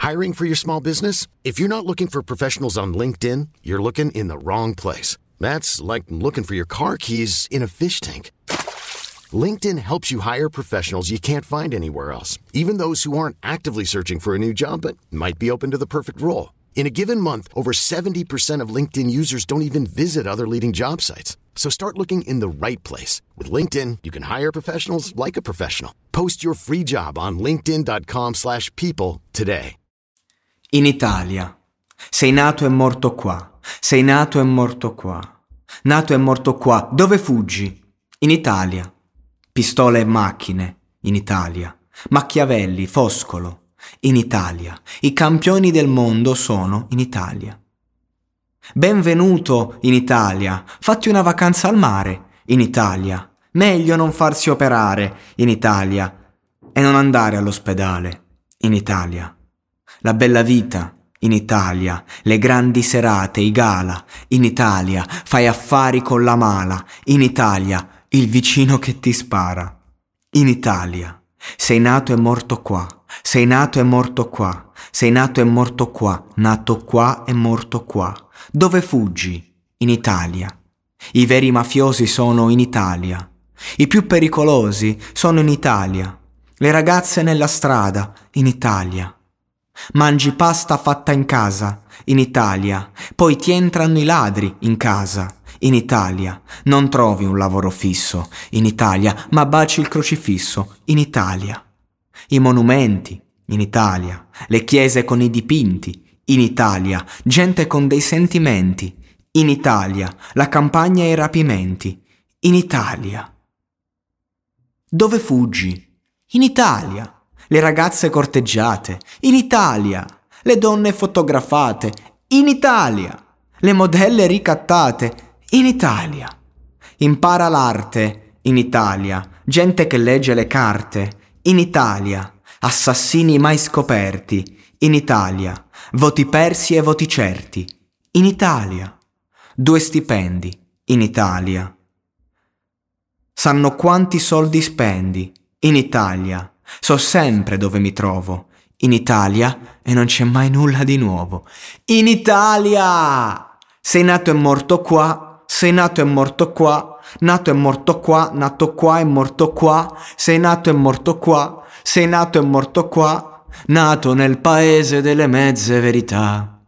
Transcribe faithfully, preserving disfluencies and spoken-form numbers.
Hiring for your small business? If you're not looking for professionals on LinkedIn, you're looking in the wrong place. That's like looking for your car keys in a fish tank. LinkedIn helps you hire professionals you can't find anywhere else, even those who aren't actively searching for a new job but might be open to the perfect role. In a given month, over seventy percent of LinkedIn users don't even visit other leading job sites. So start looking in the right place. With LinkedIn, you can hire professionals like a professional. Post your free job on linkedin dot com slash people today. In Italia. Sei nato e morto qua. Sei nato e morto qua. Nato e morto qua. Dove fuggi? In Italia. Pistole e macchine, in Italia. Machiavelli, Foscolo, in Italia. I campioni del mondo sono in Italia. Benvenuto in Italia. Fatti una vacanza al mare, in Italia. Meglio non farsi operare, in Italia. E non andare all'ospedale, in Italia. La bella vita, in Italia. Le grandi serate, i gala, in Italia. Fai affari con la mala, in Italia. Il vicino che ti spara, in Italia. Sei nato e morto qua, sei nato e morto qua, sei nato e morto qua, nato qua e morto qua. Dove fuggi? In Italia. I veri mafiosi sono in Italia. I più pericolosi sono in Italia. Le ragazze nella strada, in Italia. Mangi pasta fatta in casa, in Italia. Poi ti entrano i ladri in casa. In Italia. Non trovi un lavoro fisso, in Italia, ma baci il crocifisso, in Italia. I monumenti, in Italia. Le chiese con i dipinti, in Italia. Gente con dei sentimenti, in Italia. La campagna e i rapimenti, in Italia. Dove fuggi? In Italia. Le ragazze corteggiate, in Italia. Le donne fotografate, in Italia. Le modelle ricattate, in Italia. Impara l'arte, in Italia. Gente che legge le carte, in Italia. Assassini mai scoperti, in Italia. Voti persi e voti certi, in Italia. Due stipendi, in Italia. Sanno quanti soldi spendi, in Italia. So sempre dove mi trovo, in Italia, e non c'è mai nulla di nuovo. In Italia! Sei nato e morto qua. Sei nato e morto qua, nato e morto qua, nato qua e morto qua, sei nato e morto qua, sei nato e morto qua, nato nel paese delle mezze verità.